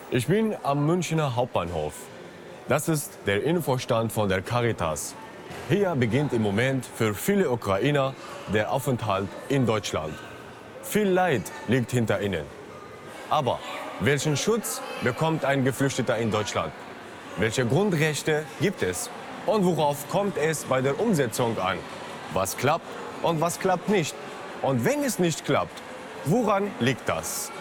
Ich bin am Münchner Hauptbahnhof. Das ist der Infostand von der Caritas. Hier beginnt im Moment für viele Ukrainer der Aufenthalt in Deutschland. Viel Leid liegt hinter ihnen. Aber welchen Schutz bekommt ein Geflüchteter in Deutschland? Welche Grundrechte gibt es? Und worauf kommt es bei der Umsetzung an? Was klappt und was klappt nicht? Und wenn es nicht klappt, woran liegt das?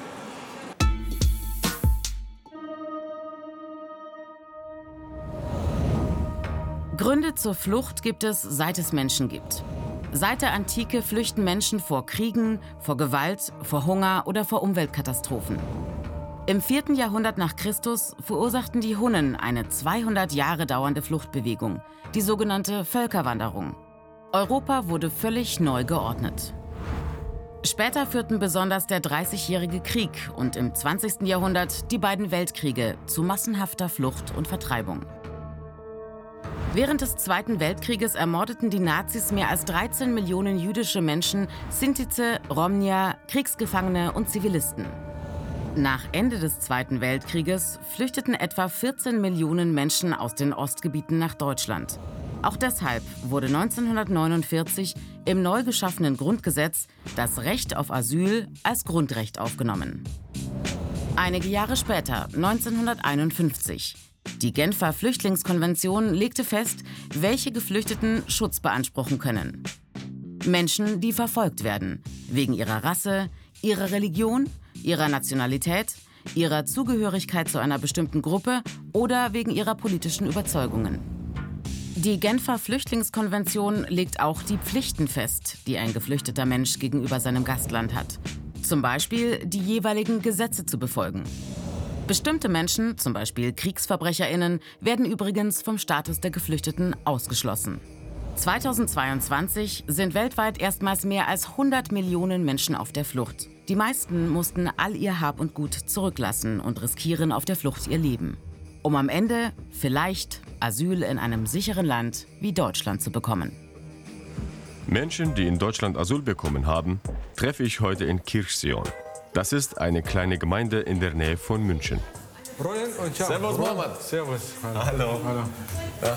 Gründe zur Flucht gibt es, seit es Menschen gibt. Seit der Antike flüchten Menschen vor Kriegen, vor Gewalt, vor Hunger oder vor Umweltkatastrophen. Im 4. Jahrhundert nach Christus verursachten die Hunnen eine 200 Jahre dauernde Fluchtbewegung, die sogenannte Völkerwanderung. Europa wurde völlig neu geordnet. Später führten besonders der Dreißigjährige Krieg und im 20. Jahrhundert die beiden Weltkriege zu massenhafter Flucht und Vertreibung. Während des Zweiten Weltkrieges ermordeten die Nazis mehr als 13 Millionen jüdische Menschen, Sintize, Romnier, Kriegsgefangene und Zivilisten. Nach Ende des Zweiten Weltkrieges flüchteten etwa 14 Millionen Menschen aus den Ostgebieten nach Deutschland. Auch deshalb wurde 1949 im neu geschaffenen Grundgesetz das Recht auf Asyl als Grundrecht aufgenommen. Einige Jahre später, 1951, die Genfer Flüchtlingskonvention legte fest, welche Geflüchteten Schutz beanspruchen können. Menschen, die verfolgt werden, wegen ihrer Rasse, ihrer Religion, ihrer Nationalität, ihrer Zugehörigkeit zu einer bestimmten Gruppe oder wegen ihrer politischen Überzeugungen. Die Genfer Flüchtlingskonvention legt auch die Pflichten fest, die ein geflüchteter Mensch gegenüber seinem Gastland hat. Zum Beispiel die jeweiligen Gesetze zu befolgen. Bestimmte Menschen, zum Beispiel KriegsverbrecherInnen, werden übrigens vom Status der Geflüchteten ausgeschlossen. 2022 sind weltweit erstmals mehr als 100 Millionen Menschen auf der Flucht. Die meisten mussten all ihr Hab und Gut zurücklassen und riskieren auf der Flucht ihr Leben, um am Ende vielleicht Asyl in einem sicheren Land wie Deutschland zu bekommen. Menschen, die in Deutschland Asyl bekommen haben, treffe ich heute in Kirchsion. Das ist eine kleine Gemeinde in der Nähe von München. Servus, Mohammed. Servus. Hallo. Hallo. Ja.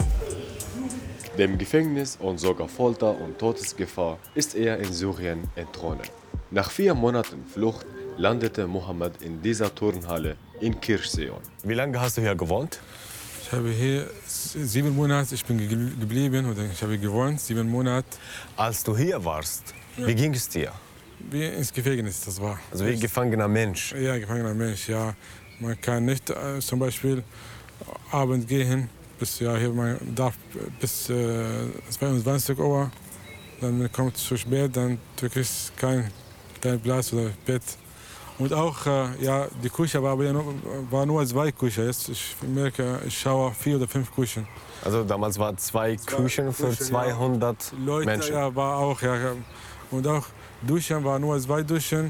Dem Gefängnis und sogar Folter und Todesgefahr ist er in Syrien entronnen. Nach 4 Monaten Flucht landete Mohammed in dieser Turnhalle in Kirchsion. Wie lange hast du hier gewohnt? Ich habe hier 7 Monate, ich bin geblieben oder ich habe gewohnt, 7 Monate. Als du hier warst, wie ging es dir? Wie ins Gefängnis, das war. Also wie gefangener Mensch? Ja, gefangener Mensch, ja. Man kann nicht zum Beispiel Abend gehen, bis, ja, hier man darf bis 22 Uhr. Dann man kommt zu spät, dann du kriegst kein Platz oder Bett. Und auch, ja, die Küche war nur 2 Küchen. Jetzt ich merke, ich schaue 4 oder 5 Küchen. Also damals waren 2 Küchen für 200 Leute, Menschen? Ja, war auch, ja. Und auch Duschen, war nur 2 Duschen.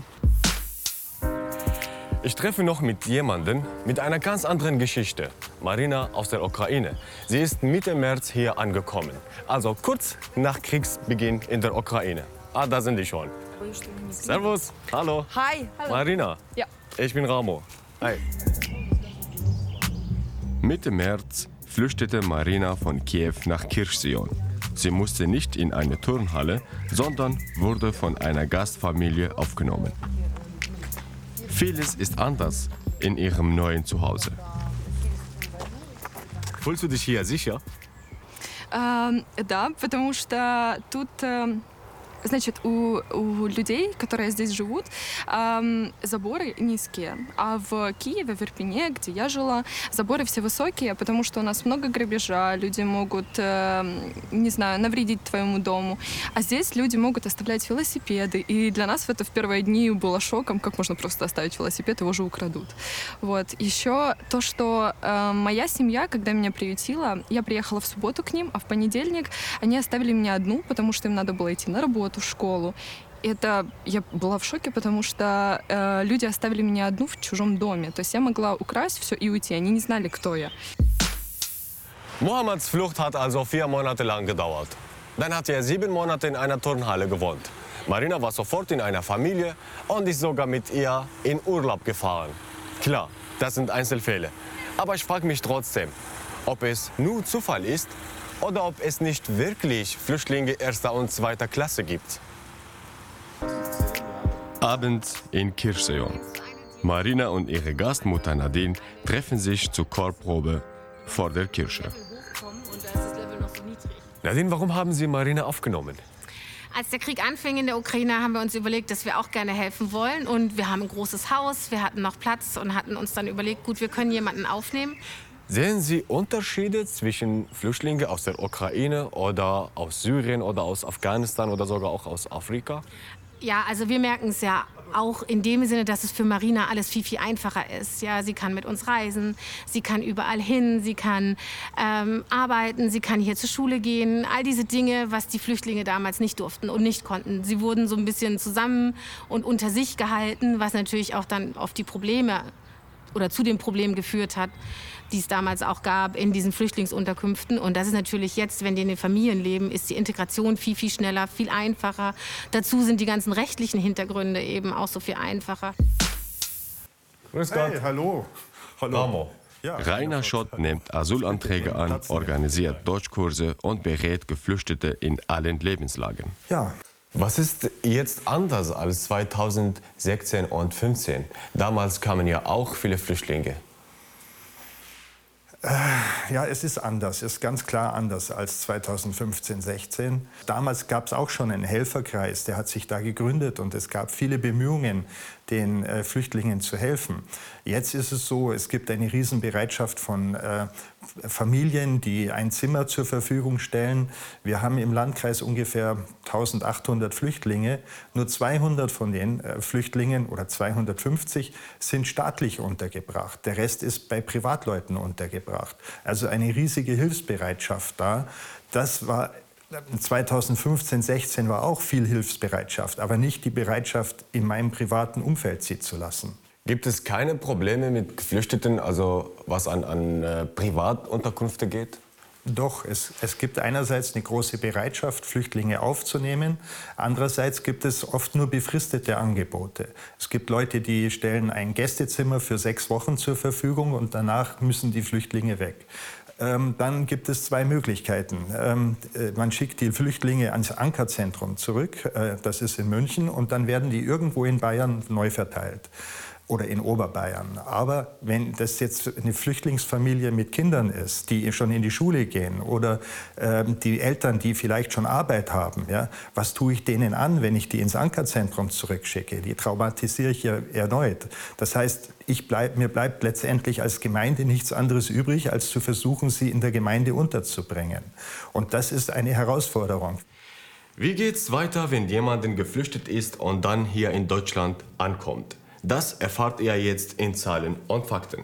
Ich treffe noch mit jemandem mit einer ganz anderen Geschichte. Marina aus der Ukraine. Sie ist Mitte März hier angekommen. Also kurz nach Kriegsbeginn in der Ukraine. Ah, da sind die schon. Servus. Hallo. Hi. Hallo. Marina. Ja. Ich bin Ramo. Hi. Mitte März flüchtete Marina von Kiew nach Kirchsion. Sie musste nicht in eine Turnhalle, sondern wurde von einer Gastfamilie aufgenommen. Vieles ist anders in ihrem neuen Zuhause. Fühlst du dich hier sicher? Да, потому что тут, значит, у людей, которые здесь живут, заборы низкие. А в Киеве, в Ирпене, где я жила, заборы все высокие, потому что у нас много грабежа, люди могут, не знаю, навредить твоему дому. А здесь люди могут оставлять велосипеды. И для нас это в первые дни было шоком, как можно просто оставить велосипед, его же украдут. Вот. Еще то, что моя семья, когда меня приютила, я приехала в субботу к ним, а в понедельник они оставили меня одну, потому что им надо было идти на работу, в школу. Это я была в шоке, потому что люди оставили меня одну в чужом доме. То есть я могла украсть все и уйти. Они не знали, кто я. Mohammeds Flucht hat also 4 Monate lang gedauert. Dann hat er 7 Monate in einer Turnhalle gewohnt. Marina war sofort in einer Familie und ist sogar mit ihr in Urlaub gefahren. Klar, das sind Einzelfälle. Aber ich frage mich trotzdem, ob es nur Zufall ist oder ob es nicht wirklich Flüchtlinge erster und zweiter Klasse gibt. Abend in Kirchseon. Marina und ihre Gastmutter Nadine treffen sich zur Chorprobe vor der Kirche. Nadine, warum haben Sie Marina aufgenommen? Als der Krieg anfing in der Ukraine, haben wir uns überlegt, dass wir auch gerne helfen wollen. Und wir haben ein großes Haus, wir hatten noch Platz und hatten uns dann überlegt, gut, wir können jemanden aufnehmen. Sehen Sie Unterschiede zwischen Flüchtlingen aus der Ukraine oder aus Syrien oder aus Afghanistan oder sogar auch aus Afrika? Ja, also wir merken es ja auch in dem Sinne, dass es für Marina alles viel, viel einfacher ist. Ja, sie kann mit uns reisen, sie kann überall hin, sie kann arbeiten, sie kann hier zur Schule gehen. All diese Dinge, was die Flüchtlinge damals nicht durften und nicht konnten. Sie wurden so ein bisschen zusammen und unter sich gehalten, was natürlich auch dann auf die Probleme oder zu den Problemen geführt hat, die es damals auch gab in diesen Flüchtlingsunterkünften. Und das ist natürlich jetzt, wenn die in den Familien leben, ist die Integration viel, viel schneller, viel einfacher. Dazu sind die ganzen rechtlichen Hintergründe eben auch so viel einfacher. Grüß Gott. Hey, hallo. Hallo. Ja, Rainer Schott nimmt Asylanträge an, organisiert Deutschkurse und berät Geflüchtete in allen Lebenslagen. Ja, Was ist jetzt anders als 2016 und 2015? Damals kamen ja auch viele Flüchtlinge. ja, es ist anders. Es ist ganz klar anders als 2015, 16. Damals gab es auch schon einen Helferkreis, der hat sich da gegründet und es gab viele Bemühungen, den Flüchtlingen zu helfen. Jetzt ist es so, es gibt eine Riesenbereitschaft von Familien, die ein Zimmer zur Verfügung stellen. Wir haben im Landkreis ungefähr 1800 Flüchtlinge. Nur 200 von den Flüchtlingen oder 250 sind staatlich untergebracht. Der Rest ist bei Privatleuten untergebracht. Also eine riesige Hilfsbereitschaft da. Das war 2015, 16 war auch viel Hilfsbereitschaft, aber nicht die Bereitschaft, in meinem privaten Umfeld sie zu lassen. Gibt es keine Probleme mit Geflüchteten, also was an Privatunterkünfte geht? Doch, es gibt einerseits eine große Bereitschaft, Flüchtlinge aufzunehmen. Andererseits gibt es oft nur befristete Angebote. Es gibt Leute, die stellen ein Gästezimmer für 6 Wochen zur Verfügung und danach müssen die Flüchtlinge weg. Dann gibt es 2 Möglichkeiten. Man schickt die Flüchtlinge ans Ankerzentrum zurück, das ist in München, und dann werden die irgendwo in Bayern neu verteilt. Oder in Oberbayern. Aber wenn das jetzt eine Flüchtlingsfamilie mit Kindern ist, die schon in die Schule gehen oder die Eltern, die vielleicht schon Arbeit haben, ja, was tue ich denen an, wenn ich die ins Ankerzentrum zurückschicke? Die traumatisiere ich ja erneut. Das heißt, mir bleibt letztendlich als Gemeinde nichts anderes übrig, als zu versuchen, sie in der Gemeinde unterzubringen. Und das ist eine Herausforderung. Wie geht's weiter, wenn jemand geflüchtet ist und dann hier in Deutschland ankommt? Das erfahrt ihr jetzt in Zahlen und Fakten.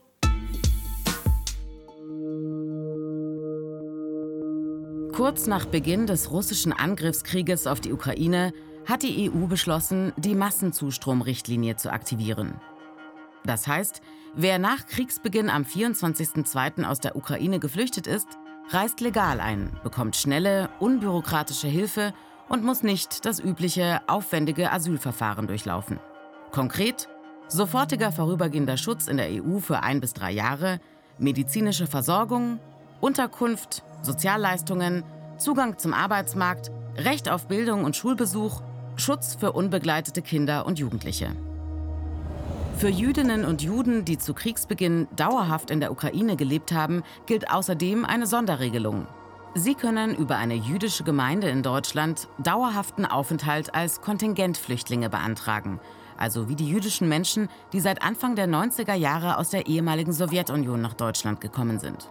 Kurz nach Beginn des russischen Angriffskrieges auf die Ukraine hat die EU beschlossen, die Massenzustromrichtlinie zu aktivieren. Das heißt, wer nach Kriegsbeginn am 24.02. aus der Ukraine geflüchtet ist, reist legal ein, bekommt schnelle, unbürokratische Hilfe und muss nicht das übliche, aufwendige Asylverfahren durchlaufen. Konkret: sofortiger vorübergehender Schutz in der EU für 1 bis 3 Jahre, medizinische Versorgung, Unterkunft, Sozialleistungen, Zugang zum Arbeitsmarkt, Recht auf Bildung und Schulbesuch, Schutz für unbegleitete Kinder und Jugendliche. Für Jüdinnen und Juden, die zu Kriegsbeginn dauerhaft in der Ukraine gelebt haben, gilt außerdem eine Sonderregelung. Sie können über eine jüdische Gemeinde in Deutschland dauerhaften Aufenthalt als Kontingentflüchtlinge beantragen, also wie die jüdischen Menschen, die seit Anfang der 90er Jahre aus der ehemaligen Sowjetunion nach Deutschland gekommen sind.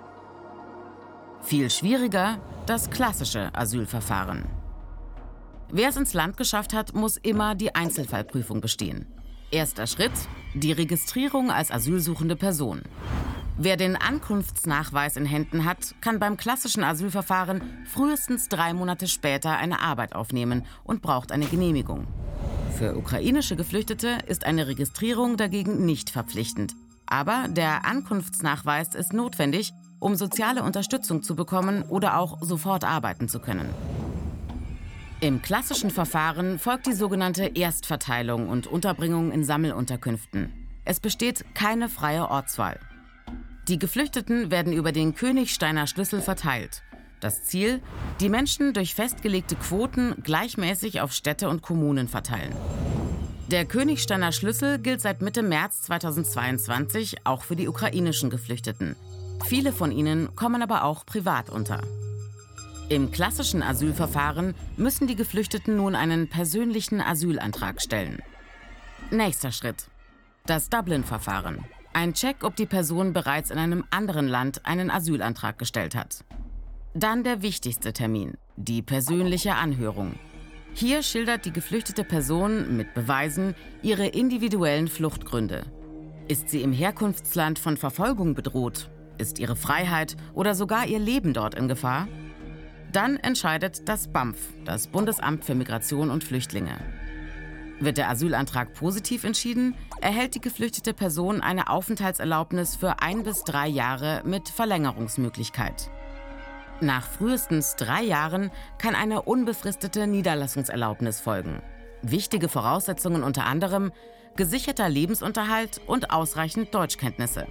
Viel schwieriger das klassische Asylverfahren. Wer es ins Land geschafft hat, muss immer die Einzelfallprüfung bestehen. Erster Schritt: die Registrierung als asylsuchende Person. Wer den Ankunftsnachweis in Händen hat, kann beim klassischen Asylverfahren frühestens 3 Monate später eine Arbeit aufnehmen und braucht eine Genehmigung. Für ukrainische Geflüchtete ist eine Registrierung dagegen nicht verpflichtend. Aber der Ankunftsnachweis ist notwendig, um soziale Unterstützung zu bekommen oder auch sofort arbeiten zu können. Im klassischen Verfahren folgt die sogenannte Erstverteilung und Unterbringung in Sammelunterkünften. Es besteht keine freie Ortswahl. Die Geflüchteten werden über den Königsteiner Schlüssel verteilt. Das Ziel: die Menschen durch festgelegte Quoten gleichmäßig auf Städte und Kommunen verteilen. Der Königsteiner Schlüssel gilt seit Mitte März 2022 auch für die ukrainischen Geflüchteten. Viele von ihnen kommen aber auch privat unter. Im klassischen Asylverfahren müssen die Geflüchteten nun einen persönlichen Asylantrag stellen. Nächster Schritt: das Dublin-Verfahren. Ein Check, ob die Person bereits in einem anderen Land einen Asylantrag gestellt hat. Dann der wichtigste Termin: die persönliche Anhörung. Hier schildert die geflüchtete Person mit Beweisen ihre individuellen Fluchtgründe. Ist sie im Herkunftsland von Verfolgung bedroht? Ist ihre Freiheit oder sogar ihr Leben dort in Gefahr? Dann entscheidet das BAMF, das Bundesamt für Migration und Flüchtlinge. Wird der Asylantrag positiv entschieden, erhält die geflüchtete Person eine Aufenthaltserlaubnis für 1 bis 3 Jahre mit Verlängerungsmöglichkeit. Nach frühestens 3 Jahren kann eine unbefristete Niederlassungserlaubnis folgen. Wichtige Voraussetzungen unter anderem: gesicherter Lebensunterhalt und ausreichend Deutschkenntnisse.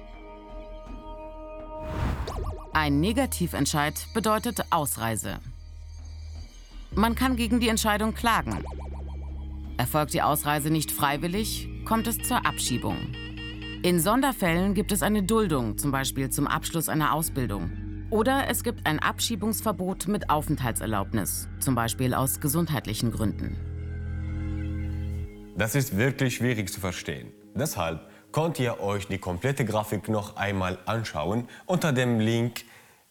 Ein Negativentscheid bedeutet Ausreise. Man kann gegen die Entscheidung klagen. Erfolgt die Ausreise nicht freiwillig, kommt es zur Abschiebung. In Sonderfällen gibt es eine Duldung, zum Beispiel zum Abschluss einer Ausbildung. Oder es gibt ein Abschiebungsverbot mit Aufenthaltserlaubnis, zum Beispiel aus gesundheitlichen Gründen. Das ist wirklich schwierig zu verstehen. Deshalb könnt ihr euch die komplette Grafik noch einmal anschauen unter dem Link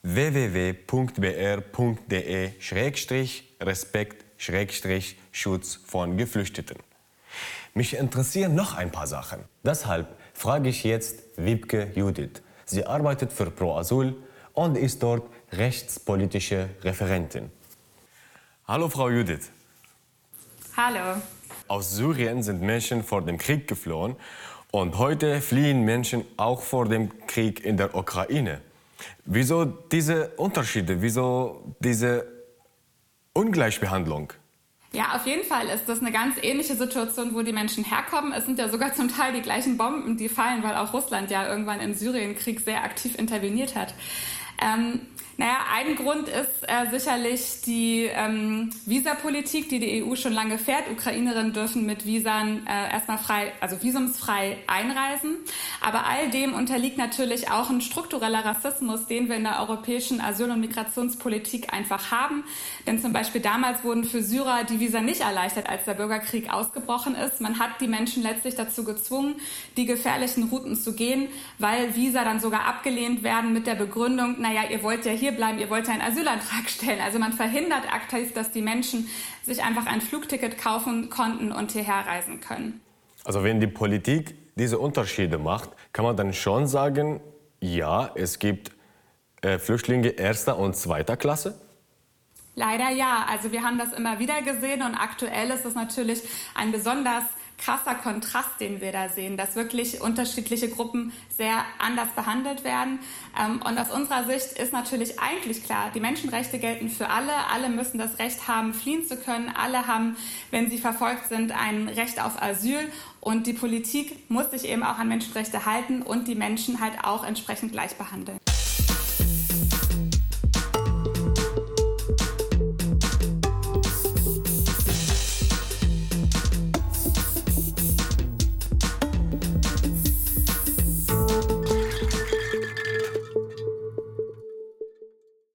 www.br.de/respekt/Schutz von Geflüchteten. Mich interessieren noch ein paar Sachen. Deshalb frage ich jetzt Wiebke Judith. Sie arbeitet für Pro Asyl und ist dort rechtspolitische Referentin. Hallo Frau Judith. Hallo. Aus Syrien sind Menschen vor dem Krieg geflohen und heute fliehen Menschen auch vor dem Krieg in der Ukraine. Wieso diese Unterschiede, wieso diese Ungleichbehandlung? Ja, auf jeden Fall ist das eine ganz ähnliche Situation, wo die Menschen herkommen. Es sind ja sogar zum Teil die gleichen Bomben, die fallen, weil auch Russland ja irgendwann im Syrienkrieg sehr aktiv interveniert hat. Ein Grund ist sicherlich die Visapolitik, die die EU schon lange fährt. Ukrainerinnen dürfen mit Visum visumsfrei einreisen. Aber all dem unterliegt natürlich auch ein struktureller Rassismus, den wir in der europäischen Asyl- und Migrationspolitik einfach haben. Denn zum Beispiel damals wurden für Syrer die Visa nicht erleichtert, als der Bürgerkrieg ausgebrochen ist. Man hat die Menschen letztlich dazu gezwungen, die gefährlichen Routen zu gehen, weil Visa dann sogar abgelehnt werden mit der Begründung, ihr wollt ja hier bleiben, ihr wollt ja einen Asylantrag stellen. Also man verhindert aktiv, dass die Menschen sich einfach ein Flugticket kaufen konnten und hierher reisen können. Also wenn die Politik diese Unterschiede macht, kann man dann schon sagen, ja, es gibt Flüchtlinge erster und zweiter Klasse? Leider ja. Also wir haben das immer wieder gesehen und aktuell ist es natürlich ein besonders krasser Kontrast, den wir da sehen, dass wirklich unterschiedliche Gruppen sehr anders behandelt werden. Und aus unserer Sicht ist natürlich eigentlich klar, die Menschenrechte gelten für alle. Alle müssen das Recht haben, fliehen zu können. Alle haben, wenn sie verfolgt sind, ein Recht auf Asyl. Und die Politik muss sich eben auch an Menschenrechte halten und die Menschen halt auch entsprechend gleich behandeln.